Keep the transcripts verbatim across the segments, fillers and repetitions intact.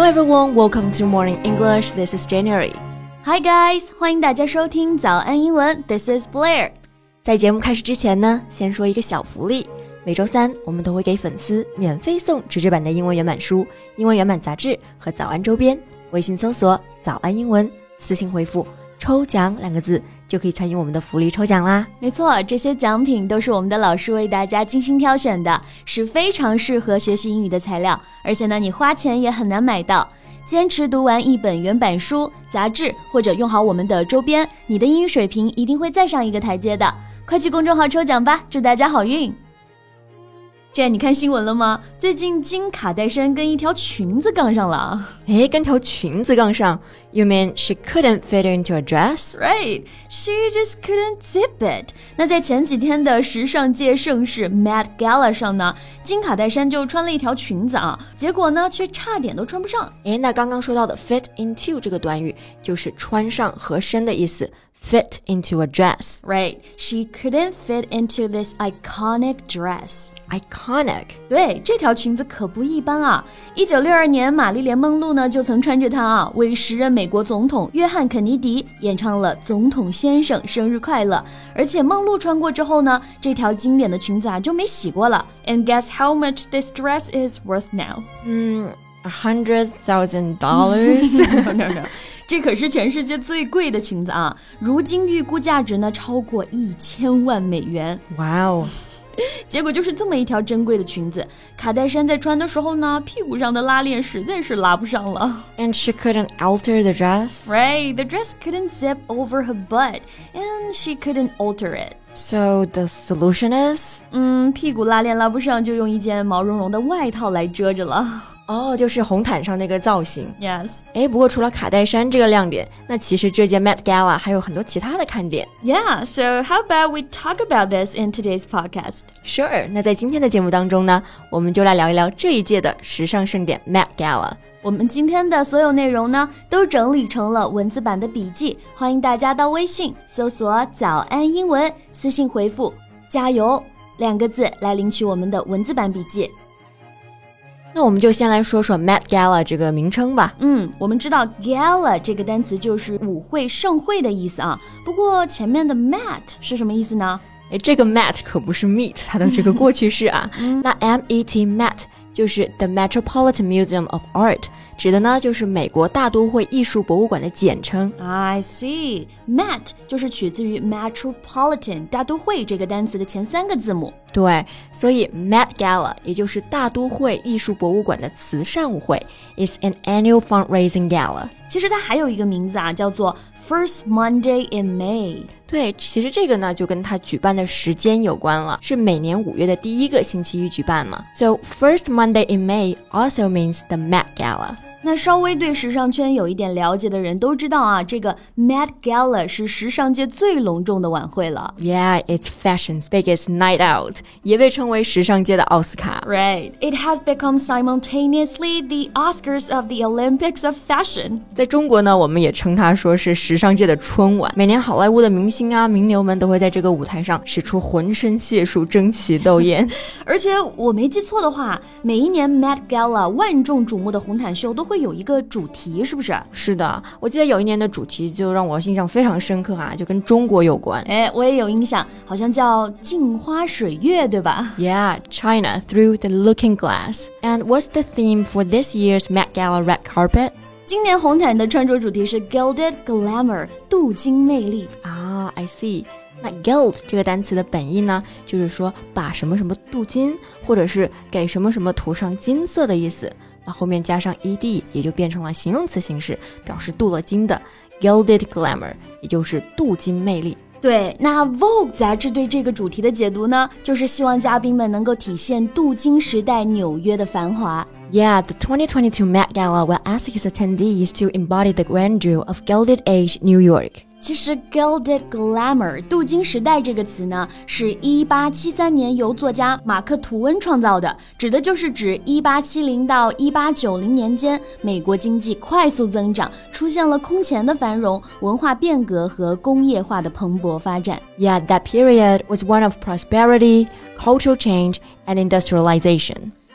everyone, welcome to Morning English. This is January. Hi guys, 欢迎大家收听早安英文 This is Blair. 在节目开始之前呢，先说一个小福利。每周三我们都会给粉丝免费送纸质版的英文原版书、英文原版杂志和早安周边。微信搜索早安英文，私信回复抽奖两个字就可以参与我们的福利抽奖啦。 没错，这些奖品都是我们的老师为大家精心挑选的，是非常适合学习英语的材料，而且呢你花钱也很难买到。坚持读完一本原版书、杂志，或者用好我们的周边，你的英语水平一定会再上一个台阶的。快去公众号抽奖吧，祝大家好运。Jen， 你看新闻了吗？最近金卡戴珊跟一条裙子杠上了。 诶，跟条裙子杠上 You mean she couldn't fit into a dress? Right, she just couldn't zip it. 那在前几天的时尚界盛事 Met Gala 上呢，金卡戴珊就穿了一条裙子啊，结果呢却差点都穿不上。 诶，那刚刚说到的 fit into 这个短语就是穿上合身的意思。Fit into a dress. Right, she couldn't fit into this iconic dress. Iconic. 对，这条裙子可不一般啊。一九六二年，玛丽莲·梦露呢就曾穿着它啊，为时任美国总统约翰·肯尼迪演唱了《总统先生生日快乐》。而且梦露穿过之后呢，这条经典的裙子啊就没洗过了。And guess how much this dress is worth now? 嗯，a hundred thousand dollars. No, no, no. 这可是全世界最贵的裙子啊！如今预估价值呢超过一千万美元。 哇哦！ 结果就是这么一条珍贵的裙子，卡戴珊在穿的时候呢，屁股上的拉链实在是拉不上了。 And she couldn't alter the dress? Right, the dress couldn't zip over her butt, and she couldn't alter it. So the solution is? 嗯，屁股拉链拉不上，就用一件毛茸茸的外套来遮着了。 哦，就是红毯上那个造型。 Yes. 诶，不过除了卡戴珊这个亮点，那其实这届 Met Gala 还有很多其他的看点。 Yeah, so how about we talk about this in today's podcast? Sure. 那在今天的节目当中呢，我们就来聊一聊这一届的时尚盛典 Met Gala。 我们今天的所有内容呢，都整理成了文字版的笔记，欢迎大家到微信搜索早安英文，私信回复加油两个字来领取我们的文字版笔记。 那我们就先来说说 Met Gala 这个名称吧。 嗯，我们知道 Gala 这个单词就是舞会、盛会的意思啊。不过前面的 Met 是什么意思呢？ 诶，这个 Met 可不是 meet 它的这个过去式啊。嗯、那 M E T Met 就是 The Metropolitan Museum of Art， 指的呢就是美国大都会艺术博物馆的简称。 I see. Met 就是取自于 Metropolitan 大都会这个单词的前三个字母。 对，所以 Met Gala 也就是大都会艺术博物馆的慈善舞会 is an annual fundraising gala。 其实它还有一个名字啊，叫做 First Monday in May。 对，其实这个呢就跟它举办的时间有关了，是每年五月的第一个星期一举办嘛。 So First Monday in May also means the Met Gala。 那稍微对时尚圈有一点了解的人都知道啊，这个 Met Gala 是时尚界最隆重的晚会了。 Yeah, it's fashion's biggest night out， 也被称为时尚界的奥斯卡。 Right, it has become simultaneously the Oscars of the Olympics of fashion。 在中国呢，我们也称它说是时尚界的春晚。每年好莱坞的明星啊、名流们都会在这个舞台上使出浑身解数，争奇斗艳。 而且我没记错的话，每一年 Met Gala 万众瞩目的红毯秀都会有一个主题，是不是？ 是的，我记得有一年的主题就让我印象非常深刻啊，就跟中国有关。 哎，我也有印象，好像叫镜花水月，对吧？ Yeah, China through the looking glass. And what's the theme for this year's Met Gala red carpet? 今年红毯的穿着主题是 Gilded Glamour， 镀金魅力。 啊、ah, I see。那 gild 这个单词的本意呢，就是说把什么什么镀金，或者是给什么什么涂上金色的意思。那后面加上 ed 也就变成了形容词形式，表示镀了金的 gilded glamour， 也就是镀金魅力。 对，那 Vogue 杂志对这个主题的解读呢，就是希望嘉宾们能够体现镀金时代纽约的繁华。 Yeah, the twenty twenty-two Met Gala will ask its attendees to embody the grandeur of Gilded Age New York. 其实 Gilded Glamour 镀金时代这个词呢，是一八七三年由作家马克·吐温创造的，指的就是指一八七零到一八九零年间，美国经济快速增长，出现了空前的繁荣，文化变革和工业化的蓬勃发展。 Yeah, that period was one of prosperity, cultural change, and industrialization.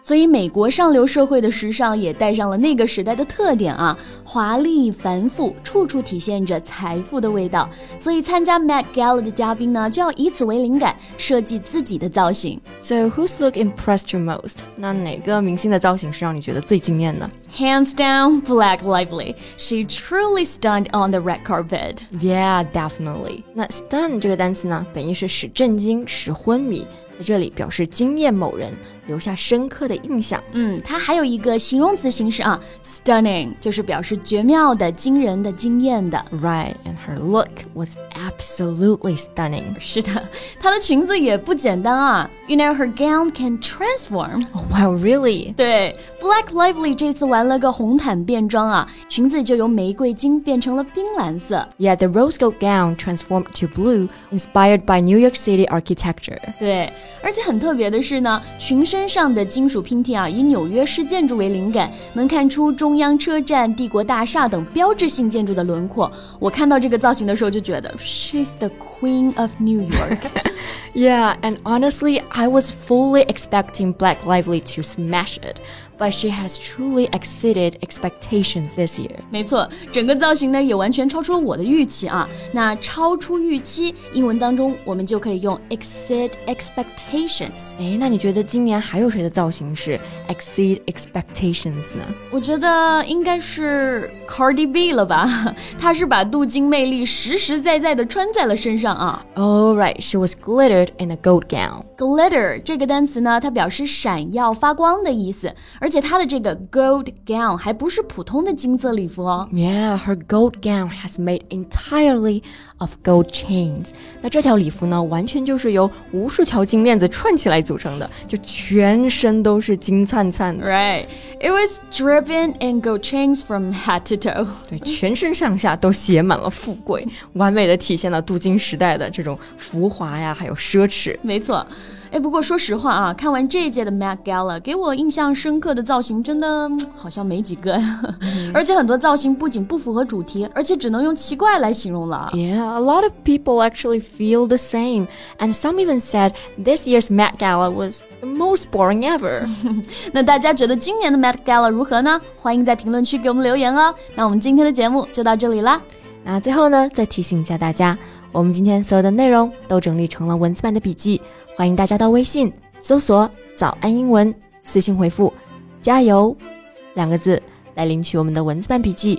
所以美国上流社会的时尚也带上了那个时代的特点啊，华丽繁复，处处体现着财富的味道。所以参加 Met Gala 的嘉宾呢，就要以此为灵感，设计自己的造型。 So whose look impressed you most? 那哪个明星的造型是让你觉得最惊艳的？ Hands down, Blake Lively. She truly stunned on the red carpet. Yeah, definitely. 那 stun 这个单词呢，本意是使震惊、使昏迷，在这里表示惊艳某人，留下深刻的印象。 嗯，它还有一个形容词形式啊 ，stunning 就是表示绝妙的、惊人的、惊艳的。 Right, and her look was absolutely stunning. 是的，她的裙子也不简单啊。You know, her gown can transform. Oh, wow, really? 对 ，Blake Lively 这次玩了个红毯变装啊，裙子就由玫瑰金变成了冰蓝色。 Yeah, the rose gold gown transformed to blue, inspired by New York City architecture. 对，而且很特别的是呢，裙身上的金属拼贴啊，以纽约市建筑为灵感，能看出中央车站、帝国大厦等标志性建筑的轮廓。我看到这个造型的时候就觉得 She's the Queen of New York. Yeah, and honestly, I was fully expecting Blake Lively to smash it, but she has truly exceeded expectations this year. 没错，整个造型呢也完全超出了我的预期啊。那超出预期，英文当中我们就可以用 exceed expectations。 诶，那你觉得今年还有谁的造型是 exceed expectations 呢？ 我觉得应该是 Cardi B 了吧，她是把镀金魅力实实在在的穿在了身上啊。 Oh, right, she was glittered in a gold gown. Glitter 这个单词呢，它表示闪耀发光的意思，而且它的这个 gold gown 还不是普通的金色礼服哦。 Yeah, her gold gown has made entirely of gold chains. 那这条礼服呢，完全就是由无数条金链子串起来组成的，就全身都是金灿灿的。 Right, it was dripping in gold chains from head to toe. 对，全身上下都写满了富贵，完美的体现了镀金时代的这种浮华呀，还有奢侈。 没错。哎，不过说实话啊，看完这一届的 Met Gala， 给我印象深刻的造型真的好像没几个，而且很多造型不仅不符合主题，而且只能用奇怪来形容了。 Yeah, a lot of people actually feel the same, and some even said this year's Met Gala was the most boring ever. 那大家觉得今年的 Met Gala 如何呢？欢迎在评论区给我们留言哦。那我们今天的节目就到这里啦。 那最后呢，再提醒一下大家，我们今天所有的内容都整理成了文字版的笔记，欢迎大家到微信搜索早安英文，私信回复加油两个字来领取我们的文字版笔记。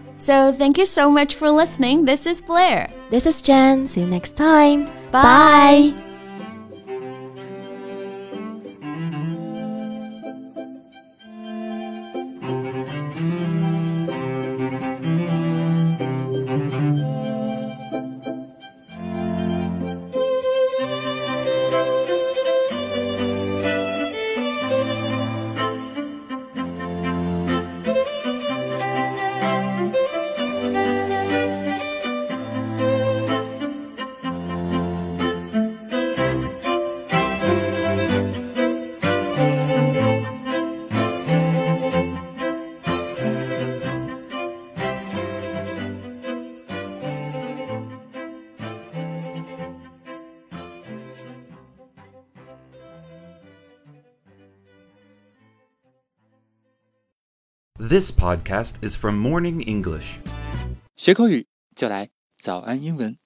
So thank you so much for listening. This is Blair. This is Jen. See you next time. Bye. Bye. This podcast is from Morning English. 学口语就来早安英文。